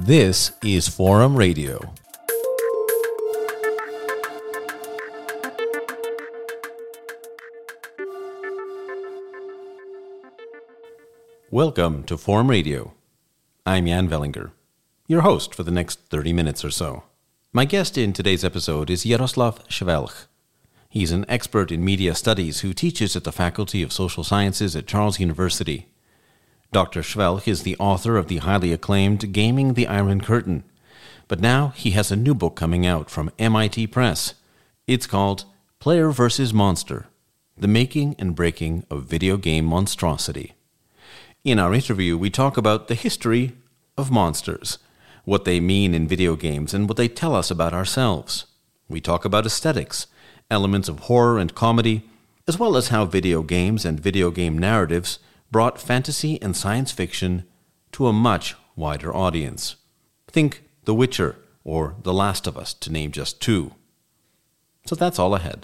This is Forum Radio. Welcome to Forum Radio. I'm Jan Vellinger, your host for the next 30 minutes or so. My guest in today's episode is Jaroslav Švelch. He's an expert in media studies who teaches at the Faculty of Social Sciences at Charles University. Dr. Švelch is the author of the highly acclaimed Gaming the Iron Curtain, but now he has a new book coming out from MIT Press. It's called Player vs. Monster: The Making and Breaking of Video Game Monstrosity. In our interview, we talk about the history of monsters, what they mean in video games, and what they tell us about ourselves. We talk about aesthetics, elements of horror and comedy, as well as how video games and video game narratives brought fantasy and science fiction to a much wider audience. Think The Witcher or The Last of Us, to name just two. So that's all ahead.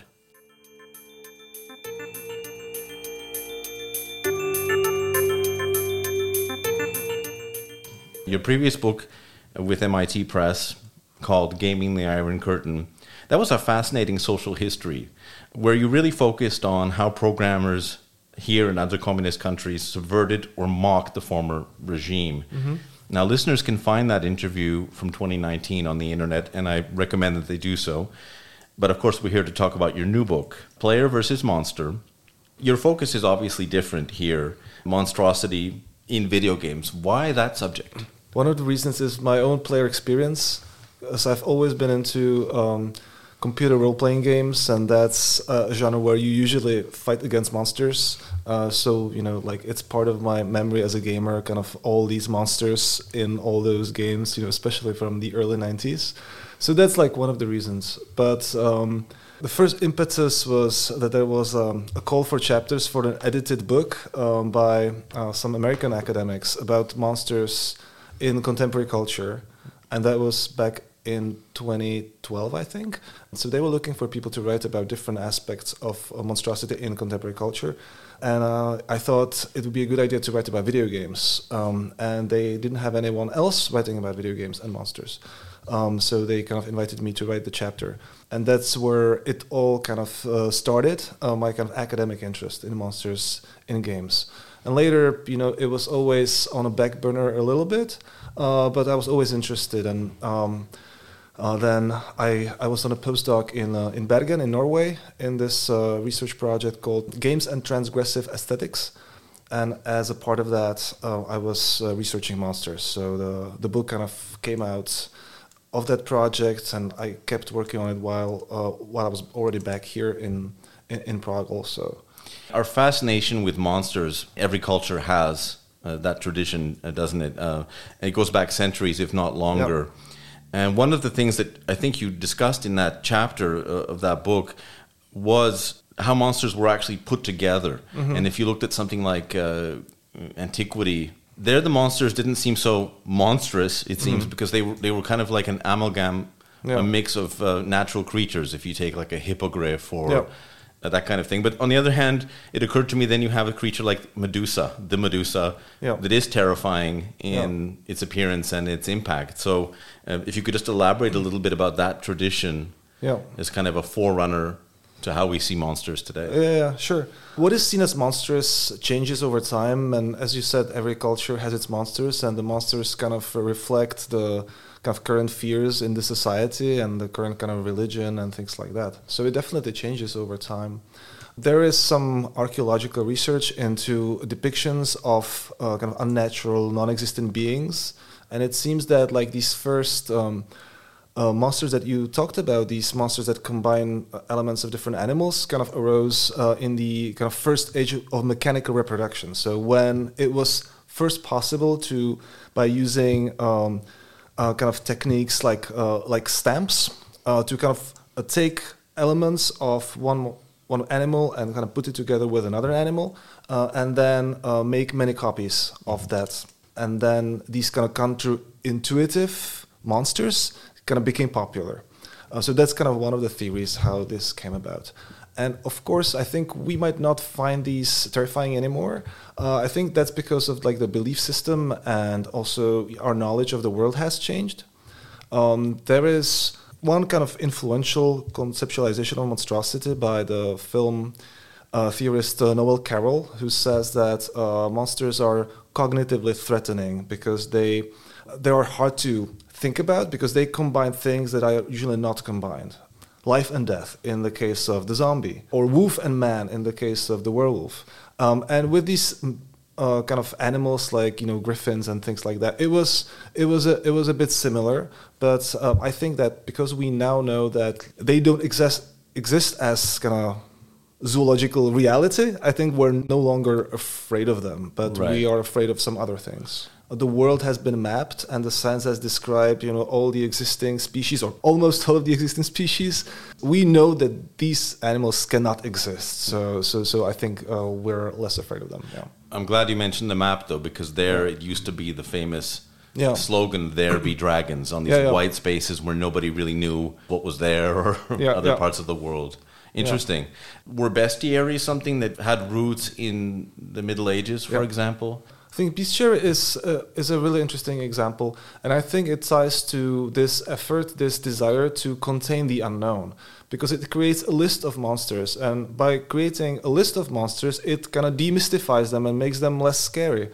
Your previous book with MIT Press, called Gaming the Iron Curtain, that was a fascinating social history where you really focused on how programmers here and other communist countries subverted or mocked the former regime. Mm-hmm. Now, listeners can find that interview from 2019 on the internet, and I recommend that they do so. But of course, we're here to talk about your new book, Player vs. Monster. Your focus is obviously different here, monstrosity in video games. Why that subject? One of the reasons is my own player experience, as I've always been into computer role-playing games, and that's a genre where you usually fight against monsters. So, it's part of my memory as a gamer, kind of all these monsters in all those games, especially from the early 90s. So that's one of the reasons. But the first impetus was that there was a call for chapters for an edited book by some American academics about monsters in contemporary culture, and that was back in 2012, I think. So they were looking for people to write about different aspects of monstrosity in contemporary culture, and I thought it would be a good idea to write about video games, and they didn't have anyone else writing about video games and monsters, so they kind of invited me to write the chapter, and that's where it all kind of started, my kind of academic interest in monsters in games. And later, it was always on a back burner a little bit, but I was always interested. And then I was on a postdoc in Bergen in Norway in this research project called Games and Transgressive Aesthetics. And as a part of that, I was researching monsters. So the book kind of came out of that project, and I kept working on it while I was already back here in Prague also. Our fascination with monsters, every culture has that tradition, doesn't it? It goes back centuries, if not longer. Yep. And one of the things that I think you discussed in that chapter of that book was how monsters were actually put together. Mm-hmm. And if you looked at something like Antiquity, there the monsters didn't seem so monstrous, it seems, mm-hmm. because they were kind of like an amalgam, a mix of natural creatures, if you take like a hippogriff or... Yep. That kind of thing. But on the other hand, it occurred to me then you have a creature like Medusa, the Medusa, that is terrifying in its appearance and its impact. So if you could just elaborate a little bit about that tradition as kind of a forerunner to how we see monsters today. Yeah, sure. What is seen as monstrous changes over time, and as you said, every culture has its monsters, and the monsters kind of reflect the kind of current fears in the society and the current kind of religion and things like that. So it definitely changes over time. There is some archaeological research into depictions of kind of unnatural, non-existent beings, and it seems that these first monsters that you talked about, these monsters that combine elements of different animals, kind of arose in the kind of first age of mechanical reproduction. So when it was first possible to, by using kind of techniques like stamps, to kind of take elements of one animal and kind of put it together with another animal, and then make many copies of that. And then these kind of counterintuitive monsters kind of became popular. So that's kind of one of the theories how this came about. And of course, I think we might not find these terrifying anymore. I think that's because of like the belief system and also our knowledge of the world has changed. There is one kind of influential conceptualization of monstrosity by the film theorist Noel Carroll, who says that monsters are cognitively threatening because they are hard to think about because they combine things that are usually not combined. Life and death in the case of the zombie, or wolf and man in the case of the werewolf. And with these kind of animals like griffins and things like that, it was a bit similar. But I think that because we now know that they don't exist as kind of zoological reality, I think we're no longer afraid of them, but Right. we are afraid of some other things. The world has been mapped, and the science has described, all the existing species, or almost all of the existing species. We know that these animals cannot exist, so I think we're less afraid of them. Yeah. I'm glad you mentioned the map, though, because there it used to be the famous Yeah. slogan, "There be dragons," on these Yeah. white spaces where nobody really knew what was there or other Yeah. parts of the world. Interesting. Were bestiaries something that had roots in the Middle Ages, for example? I think bestiary is a really interesting example, and I think it ties to this effort, this desire to contain the unknown, because it creates a list of monsters, and by creating a list of monsters, it kind of demystifies them and makes them less scary.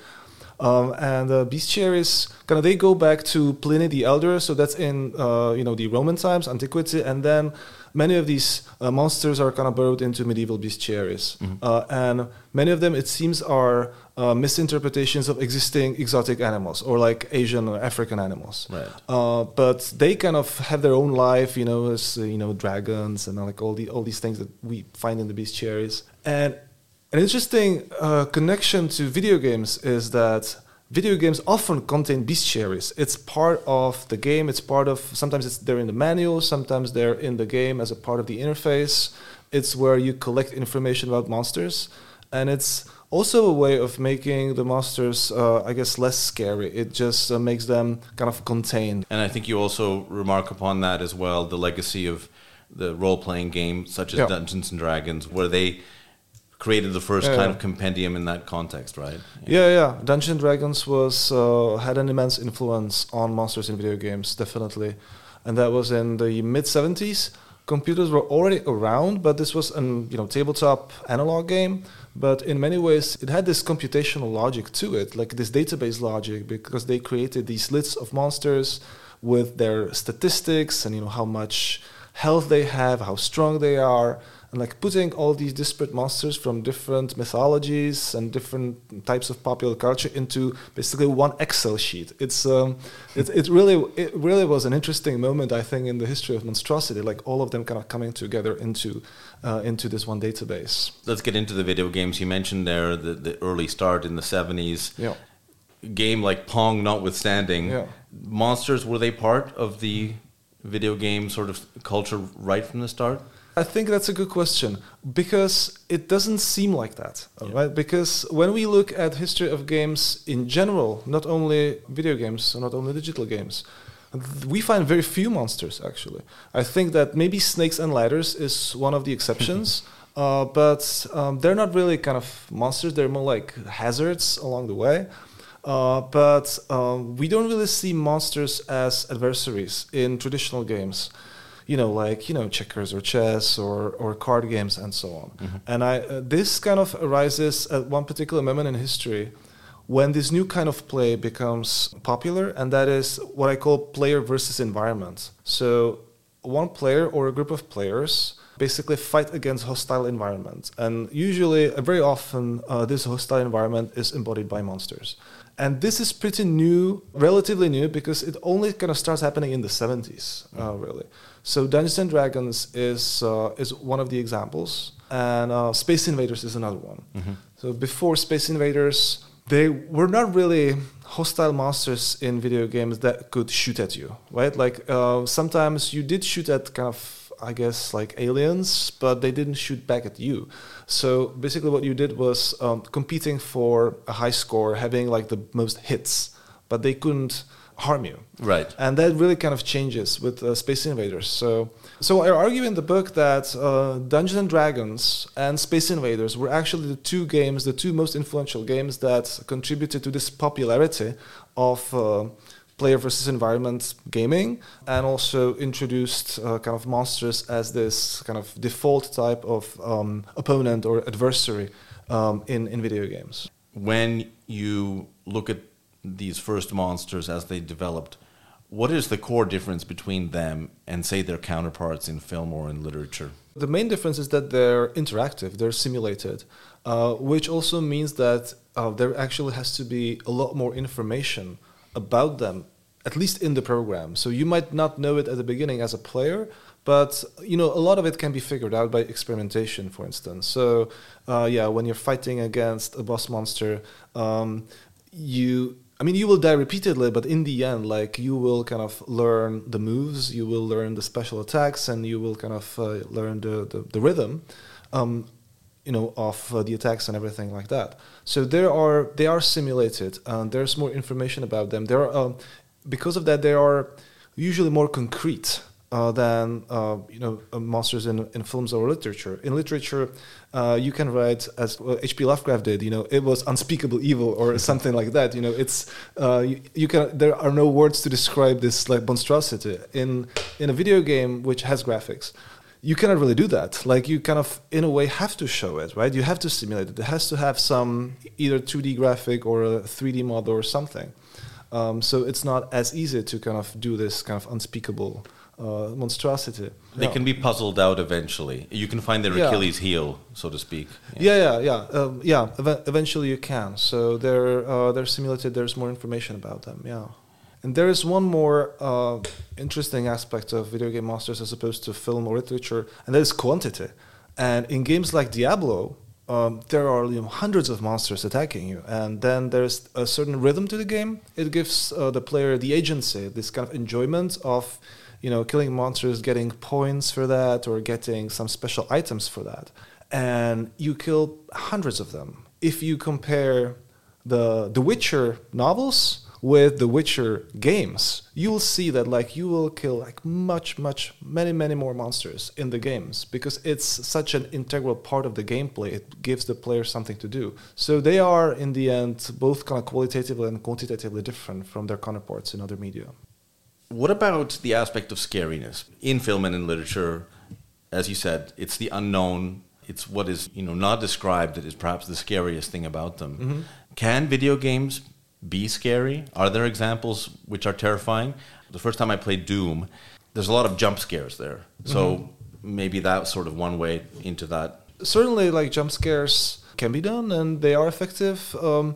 And bestiaries they go back to Pliny the Elder, so that's in the Roman times, antiquity, and then many of these monsters are kind of burrowed into medieval bestiaries, and many of them, it seems, are misinterpretations of existing exotic animals or like Asian or African animals. Right. But they kind of have their own life, as dragons and like all these things that we find in the bestiaries. And an interesting connection to video games is that video games often contain bestiaries. It's part of the game. It's part of, sometimes they're in the manual, sometimes they're in the game as a part of the interface. It's where you collect information about monsters. And it's also a way of making the monsters, less scary. It just makes them kind of contained. And I think you also remark upon that as well, the legacy of the role-playing game, such as Dungeons & Dragons, where they created the first kind of compendium in that context, right? Yeah. Dungeons & Dragons had an immense influence on monsters in video games, definitely. And that was in the mid-70s. Computers were already around, but this was a tabletop analog game. But in many ways, it had this computational logic to it, like this database logic, because they created these lists of monsters with their statistics and how much health they have, how strong they are, and like putting all these disparate monsters from different mythologies and different types of popular culture into basically one Excel sheet. It really was an interesting moment, I think, in the history of monstrosity, like all of them kind of coming together into this one database. Let's get into the video games. You mentioned there the early start in the 70s. Yeah. Game like Pong notwithstanding, monsters, were they part of the video game sort of culture right from the start? I think that's a good question, because it doesn't seem like that, right? Because when we look at history of games in general, not only video games, not only digital games, we find very few monsters, actually. I think that maybe snakes and ladders is one of the exceptions, but they're not really kind of monsters. They're more like hazards along the way. But we don't really see monsters as adversaries in traditional games. Checkers or chess or card games and so on. Mm-hmm. And this kind of arises at one particular moment in history when this new kind of play becomes popular, and that is what I call player versus environment. So one player or a group of players basically fight against hostile environment. And usually, very often, this hostile environment is embodied by monsters. And this is pretty new, relatively new, because it only kind of starts happening in the 70s, really. So Dungeons & Dragons is one of the examples, and Space Invaders is another one. Mm-hmm. So before Space Invaders, they were not really hostile monsters in video games that could shoot at you, right? Like sometimes you did shoot at kind of, I guess, like aliens, but they didn't shoot back at you. So basically what you did was competing for a high score, having like the most hits, but they couldn't harm you. Right. And that really kind of changes with Space Invaders. So I argue in the book that Dungeons and Dragons and Space Invaders were actually the two most influential games that contributed to this popularity of player versus environment gaming, and also introduced kind of monsters as this kind of default type of opponent or adversary in video games. When you look at these first monsters as they developed, what is the core difference between them and, say, their counterparts in film or in literature? The main difference is that they're interactive, they're simulated, which also means that there actually has to be a lot more information about them, at least in the program. So you might not know it at the beginning as a player, but a lot of it can be figured out by experimentation, for instance. So when you're fighting against a boss monster, you will die repeatedly, but in the end, you will kind of learn the moves, you will learn the special attacks, and you will kind of learn the rhythm, of the attacks and everything like that. So they are simulated, and there's more information about them. Because of that, they are usually more concrete than monsters in films or literature. In literature, you can write, as H.P. Lovecraft did. It was unspeakable evil or something like that. There are no words to describe this monstrosity. In a video game which has graphics, you cannot really do that. You kind of, in a way, have to show it, right? You have to simulate it. It has to have some either 2D graphic or a 3D model or something. So it's not as easy to kind of do this kind of unspeakable monstrosity. They can be puzzled out eventually. You can find their Achilles heel, so to speak. Eventually you can. So they're simulated. There's more information about them. Yeah. And there is one more interesting aspect of video game monsters as opposed to film or literature, and that is quantity. And in games like Diablo, there are hundreds of monsters attacking you, and then there's a certain rhythm to the game. It gives the player the agency, this kind of enjoyment of killing monsters, getting points for that, or getting some special items for that. And you kill hundreds of them. If you compare the Witcher novels with the Witcher games, you will see that you will kill many more monsters in the games, because it's such an integral part of the gameplay. It gives the player something to do. So they are, in the end, both kind of qualitatively and quantitatively different from their counterparts in other media. What about the aspect of scariness? In film and in literature, as you said, it's the unknown. It's what is not described that is perhaps the scariest thing about them. Mm-hmm. Can video games be scary? Are there examples which are terrifying? The first time I played Doom, there's a lot of jump scares there. So maybe that's sort of one way into that. Certainly, jump scares can be done, and they are effective.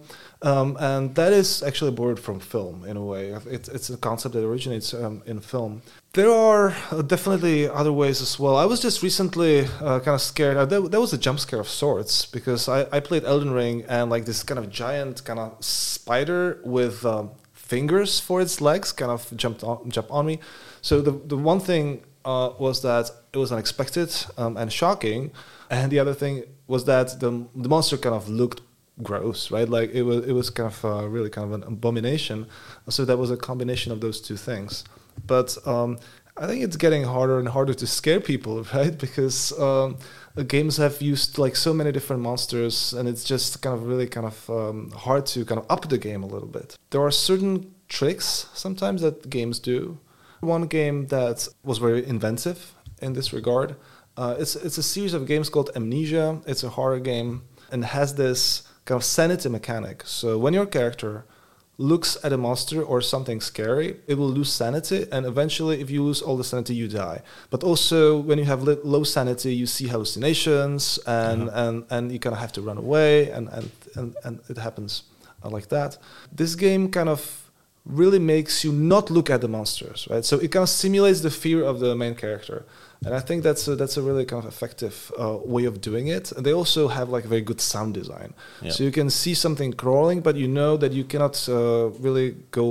And that is actually borrowed from film, in a way. It's a concept that originates in film. There are definitely other ways as well. I was just recently kind of scared. There was a jump scare of sorts, because I played Elden Ring, and this kind of giant kind of spider with fingers for its legs kind of jumped on me. So the one thing was that it was unexpected and shocking, and the other thing was that the monster kind of looked gross, right? It was kind of really kind of an abomination. So that was a combination of those two things. But I think it's getting harder and harder to scare people, right? Because games have used so many different monsters, and it's just kind of really kind of hard to kind of up the game a little bit. There are certain tricks sometimes that games do. One game that was very inventive in this regard, it's a series of games called Amnesia. It's a horror game and has this kind of sanity mechanic. So when your character looks at a monster or something scary, it will lose sanity, and eventually, if you lose all the sanity, you die. But also, when you have low sanity, you see hallucinations, and you kind of have to run away, and it happens like that. This game kind of really makes you not look at the monsters, right? So it kind of simulates the fear of the main character. And I think that's a really kind of effective way of doing it. And they also have a very good sound design. Yep. So you can see something crawling, but you know that you cannot really go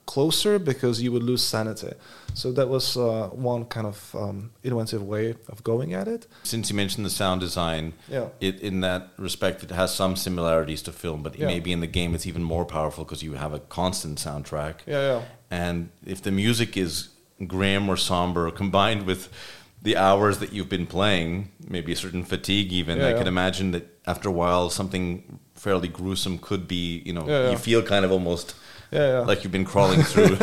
closer because you would lose sanity. So that was one kind of innovative way of going at it. Since you mentioned the sound design, Yeah. in that respect, it has some similarities to film, but maybe in the game it's even more powerful because you have a constant soundtrack. Yeah. And if the music is grim or somber, combined with the hours that you've been playing, maybe a certain fatigue even, I can imagine that after a while something fairly gruesome could be, you feel kind of almost like you've been crawling through.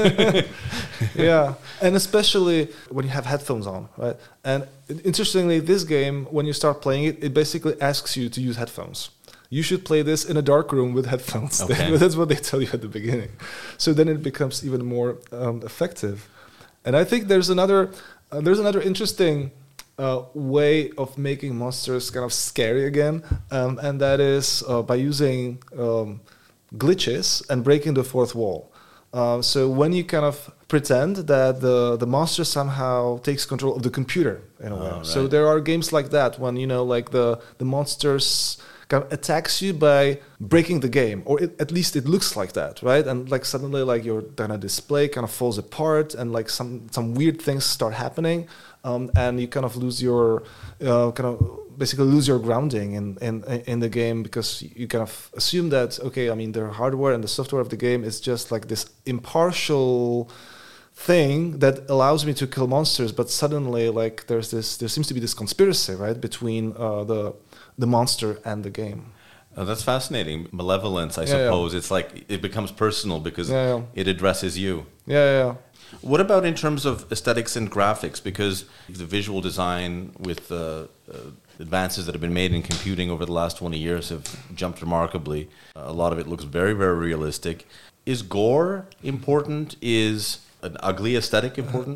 Yeah, and especially when you have headphones on, right? And interestingly, this game, when you start playing it, it basically asks you to use headphones. You should play this in a dark room with headphones. Okay. That's what they tell you at the beginning. So then it becomes even more effective. And I think there's another interesting way of making monsters kind of scary again, and that is by using glitches and breaking the fourth wall. So when you kind of pretend that the monster somehow takes control of the computer in a way. Right. So there are games like that when like the monsters kind of attacks you by breaking the game, or at least it looks like that, right? And like suddenly like your kind of display kind of falls apart, and like some weird things start happening, and you kind of lose your basically lose your grounding in the game, because you kind of assume that, okay, I mean, the hardware and the software of the game is just like this impartial thing that allows me to kill monsters, but suddenly like there seems to be this conspiracy, right, between the monster and the game. That's fascinating. Malevolence, I suppose. It's like it becomes personal because it addresses you. Yeah. What about in terms of aesthetics and graphics? Because the visual design with the advances that have been made in computing over the last 20 years have jumped remarkably. A lot of it looks very, very realistic. Is gore important? Is an ugly aesthetic important?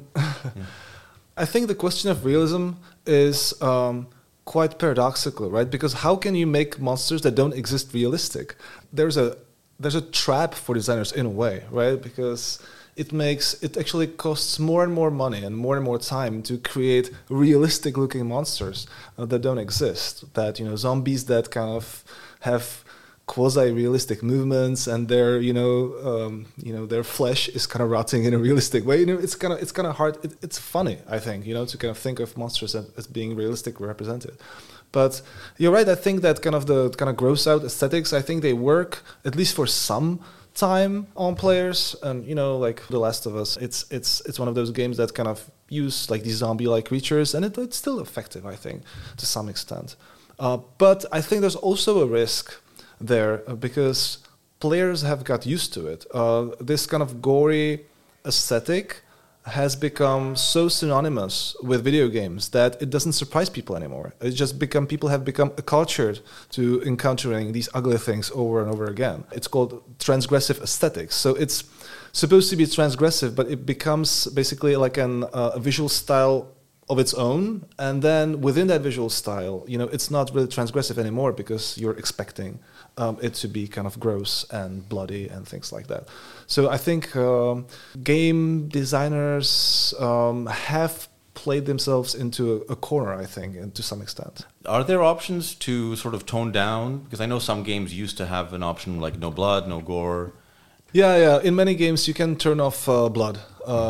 I think the question of realism is quite paradoxical, right? Because how can you make monsters that don't exist realistic? There's a trap for designers in a way, right? Because it actually costs more and more money and more time to create realistic looking monsters that don't exist. That, zombies that kind of have quasi-realistic movements, and their their flesh is kind of rotting in a realistic way. It's kind of hard. It's funny, I think, to kind of think of monsters as being realistically represented. But you're right. I think that kind of gross out aesthetics, I think they work at least for some time on players. And like The Last of Us, it's one of those games that kind of use like these zombie-like creatures, and it's still effective, I think, to some extent. But I think there's also a risk there, because players have got used to it. This kind of gory aesthetic has become so synonymous with video games that it doesn't surprise people anymore. People have become acculturated to encountering these ugly things over and over again. It's called transgressive aesthetics. So it's supposed to be transgressive, but it becomes basically like a visual style of its own, and then within that visual style, it's not really transgressive anymore because you're expecting it to be kind of gross and bloody and things like that. So I think game designers have played themselves into a corner, I think, and to some extent. Are there options to sort of tone down? Because I know some games used to have an option like no blood, no gore. Yeah. In many games you can turn off blood.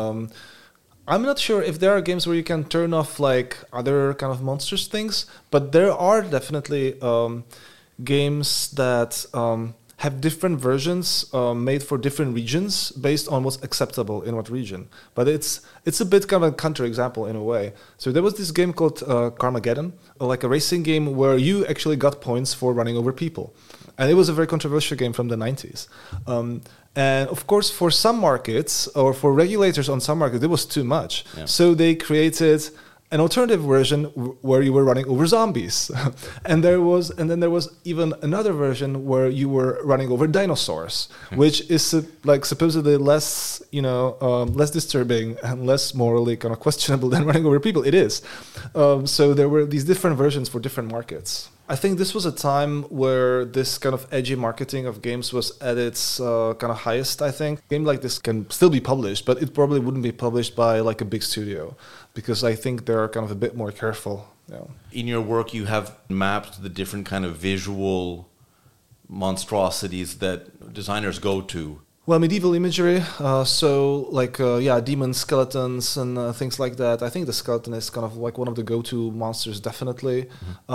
I'm not sure if there are games where you can turn off like other kind of monsters things, but there are definitely games that have different versions made for different regions based on what's acceptable in what region. But it's a bit kind of a counterexample in a way. So there was this game called Carmageddon, like a racing game where you actually got points for running over people. And it was a very controversial game from the 90s. And of course, for some markets, or for regulators on some markets, it was too much. Yeah. So they created an alternative version where you were running over zombies. and then there was even another version where you were running over dinosaurs, which is like supposedly less, less disturbing and less morally kind of questionable than running over people. It is. So there were these different versions for different markets. I think this was a time where this kind of edgy marketing of games was at its kind of highest, I think. A game like this can still be published, but it probably wouldn't be published by like a big studio, because I think they're kind of a bit more careful. In your work, you have mapped the different kind of visual monstrosities that designers go to Well, medieval imagery, demon skeletons and things like that. I think the skeleton is kind of like one of the go-to monsters, definitely.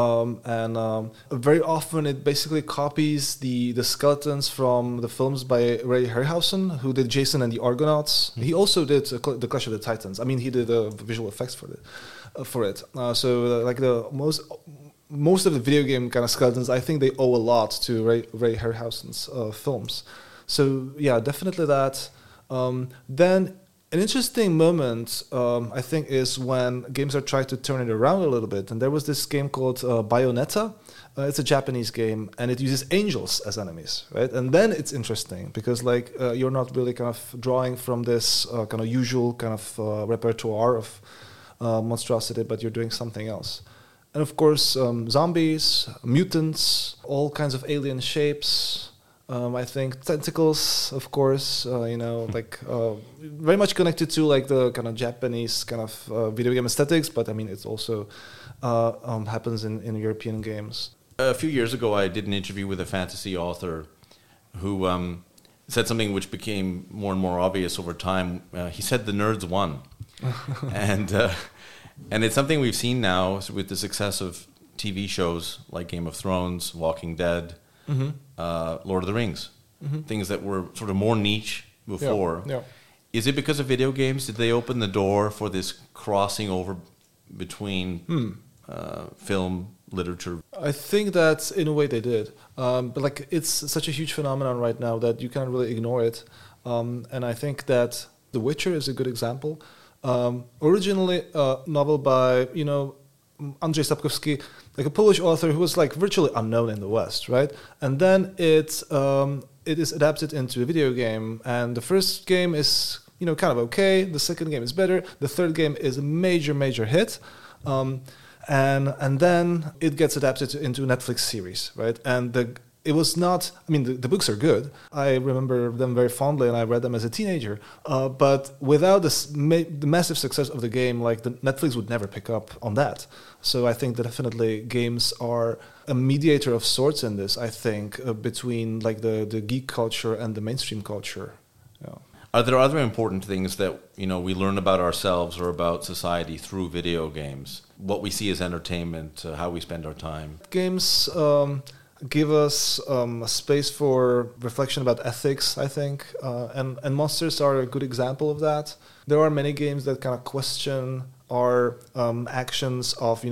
Very often it basically copies the skeletons from the films by Ray Harryhausen, who did Jason and the Argonauts. He also did the Clash of the Titans. I mean, he did visual effects for it. Most of the video game kind of skeletons, I think they owe a lot to Ray Harryhausen's films. So yeah, definitely that. Then an interesting moment, I think, is when games are trying to turn it around a little bit. And there was this game called Bayonetta. It's a Japanese game, and it uses angels as enemies, right? And then it's interesting because you're not really kind of drawing from this kind of usual kind of repertoire of monstrosity, but you're doing something else. And of course, zombies, mutants, all kinds of alien shapes. I think tentacles, of course, very much connected to like the kind of Japanese kind of video game aesthetics, but I mean, it also happens in European games. A few years ago, I did an interview with a fantasy author who said something which became more and more obvious over time. He said the nerds won. And it's something we've seen now with the success of TV shows like Game of Thrones, Walking Dead, Lord of the Rings, things that were sort of more niche before. Yeah. Is it because of video games? Did they open the door for this crossing over between film, literature? I think that in a way they did. But like it's such a huge phenomenon right now that you can't really ignore it. And I think that The Witcher is a good example. Originally a novel by, Andrzej Sapkowski, like a Polish author who was like virtually unknown in the West, right? And then it is adapted into a video game, and the first game is kind of okay. The second game is better. The third game is a major hit, and then it gets adapted into a Netflix series, right? And it was not. I mean, the books are good. I remember them very fondly, and I read them as a teenager. But without the massive success of the game, like the Netflix would never pick up on that. So I think that definitely games are a mediator of sorts in this. I think between like the geek culture and the mainstream culture. Yeah. Are there other important things that we learn about ourselves or about society through video games? What we see as entertainment, how we spend our time. Games. Give us a space for reflection about ethics, I think, and Monsters are a good example of that. There are many games that kind of question our actions of,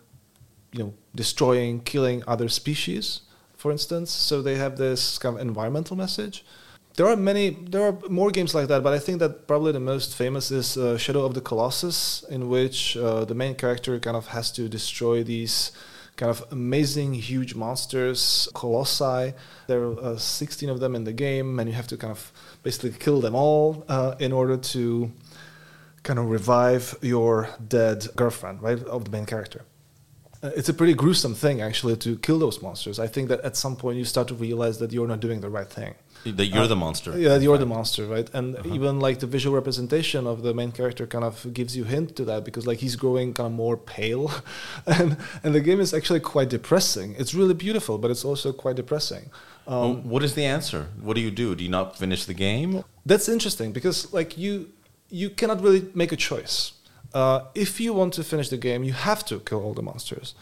destroying, killing other species, for instance. So they have this kind of environmental message. There are more games like that, but I think that probably the most famous is Shadow of the Colossus, in which the main character kind of has to destroy these kind of amazing, huge monsters, colossi. There are 16 of them in the game, and you have to kind of basically kill them all in order to kind of revive your dead girlfriend, right, of the main character. It's a pretty gruesome thing, actually, to kill those monsters. I think that at some point you start to realize that you're not doing the right thing. That you're the monster. Yeah, you're the monster, right? And even like the visual representation of the main character kind of gives you hint to that, because like he's growing kind of more pale, and the game is actually quite depressing. It's really beautiful, but it's also quite depressing. What is the answer? What do? Do you not finish the game? That's interesting, because like you cannot really make a choice. If you want to finish the game, you have to kill all the monsters.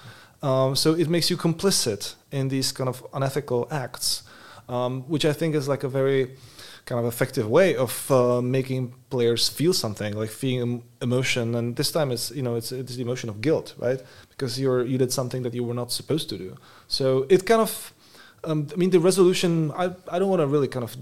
So it makes you complicit in these kind of unethical acts. Which I think is like a very kind of effective way of making players feel something, like feeling emotion. And this time it's the emotion of guilt, right? Because you did something that you were not supposed to do. So it kind of, the resolution, I don't want to really kind of,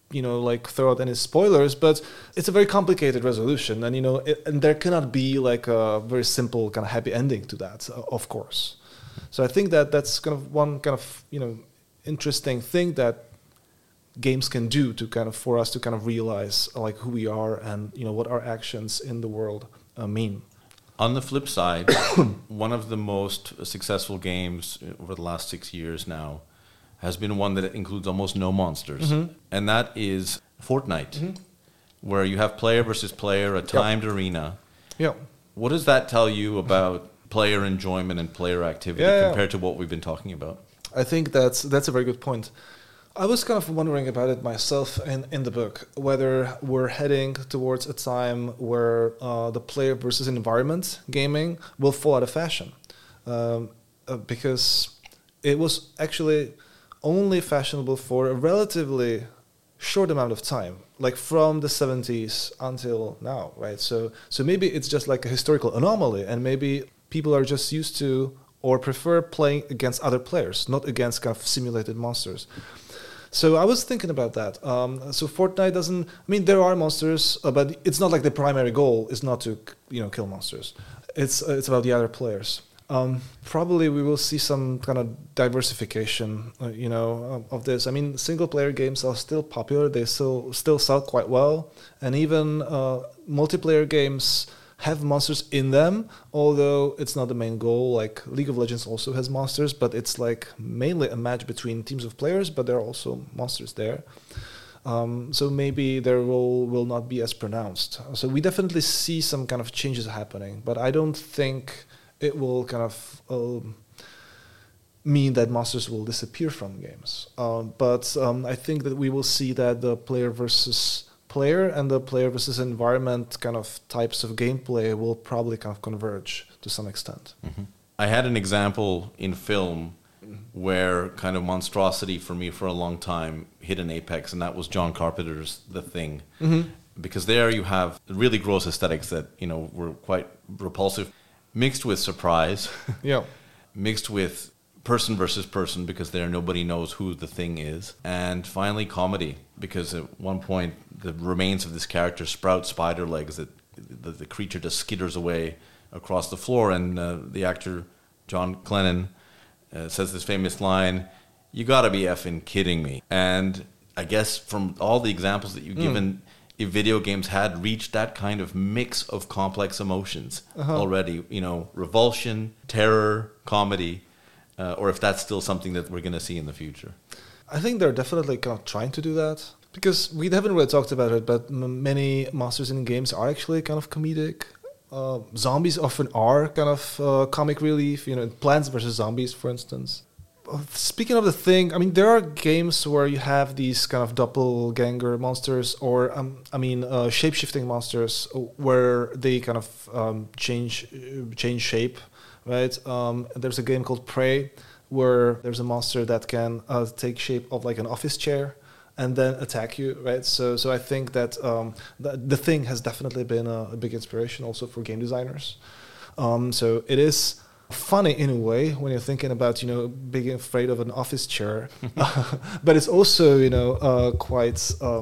throw out any spoilers, but it's a very complicated resolution. And, and there cannot be like a very simple kind of happy ending to that, of course. So I think that's kind of one kind of, interesting thing that games can do to kind of for us to kind of realize like who we are and what our actions in the world mean. On the flip side, one of the most successful games over the last 6 years now has been one that includes almost no monsters, and that is Fortnite, where you have player versus player, a timed arena. Yeah. What does that tell you about player enjoyment and player activity compared to what we've been talking about? I think that's a very good point. I was kind of wondering about it myself in the book, whether we're heading towards a time where the player versus environment gaming will fall out of fashion. Because it was actually only fashionable for a relatively short amount of time, like from the 70s until now, right? So maybe it's just like a historical anomaly, and maybe people are just used to or prefer playing against other players, not against kind of simulated monsters. So I was thinking about that. So Fortnite doesn't. I mean, there are monsters, but it's not like the primary goal is not to kill monsters. It's about the other players. Probably we will see some kind of diversification, of this. I mean, single player games are still popular. They still sell quite well, and even multiplayer games have monsters in them, although it's not the main goal. Like League of Legends also has monsters, but it's like mainly a match between teams of players, but there are also monsters there. So maybe their role will not be as pronounced. So we definitely see some kind of changes happening, but I don't think it will kind of mean that monsters will disappear from games. But I think that we will see that the player versus player and the player versus environment kind of types of gameplay will probably kind of converge to some extent. Mm-hmm. I had an example in film where kind of monstrosity for me for a long time hit an apex, and that was John Carpenter's The Thing. Mm-hmm. Because there you have really gross aesthetics that, were quite repulsive, mixed with surprise, mixed with person versus person, because there nobody knows who the thing is, and finally comedy, because at one point the remains of this character sprout spider legs that the creature just skitters away across the floor, and the actor John Clennan says this famous line, "You gotta be effing kidding me." And I guess from all the examples that you've given, if video games had reached that kind of mix of complex emotions already, revulsion, terror, comedy, or if that's still something that we're going to see in the future. I think they're definitely kind of trying to do that, because we haven't really talked about it, but many monsters in games are actually kind of comedic. Zombies often are kind of comic relief, Plants vs. Zombies, for instance. Speaking of The Thing, I mean, there are games where you have these kind of doppelganger monsters, or shape-shifting monsters, where they kind of change shape, right? There's a game called Prey, where there's a monster that can take shape of like an office chair and then attack you, right? So I think that the Thing has definitely been a big inspiration also for game designers. So it is funny in a way when you're thinking about being afraid of an office chair, but it's also quite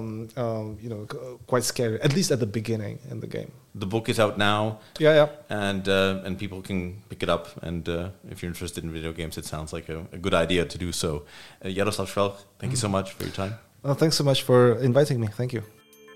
quite scary, at least at the beginning in the game. The book is out now, and people can pick it up. And if you're interested in video games, it sounds like a good idea to do so. Jaroslav Švelch, thank you so much for your time. Thanks so much for inviting me. Thank you.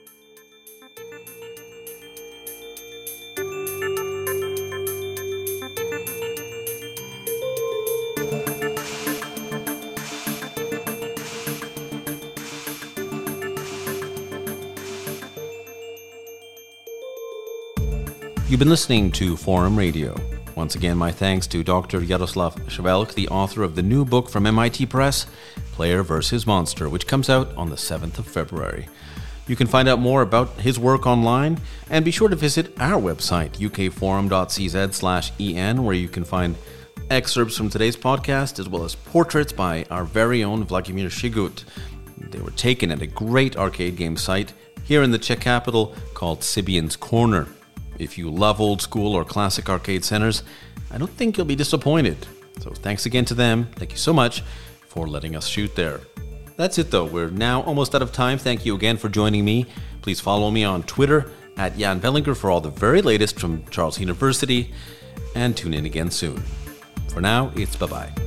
You've been listening to Forum Radio. Once again, my thanks to Dr. Jaroslav Švelch, the author of the new book from MIT Press, Player vs. Monster, which comes out on the 7th of February. You can find out more about his work online, and be sure to visit our website, ukforum.cz/en, where you can find excerpts from today's podcast, as well as portraits by our very own Vladimir Shigut. They were taken at a great arcade game site here in the Czech capital called Sibian's Corner. If you love old school or classic arcade centers, I don't think you'll be disappointed. So thanks again to them. Thank you so much for letting us shoot there. That's it though. We're now almost out of time. Thank you again for joining me. Please follow me on Twitter at Jan Vellinger for all the very latest from Charles University, and tune in again soon. For now, it's bye-bye.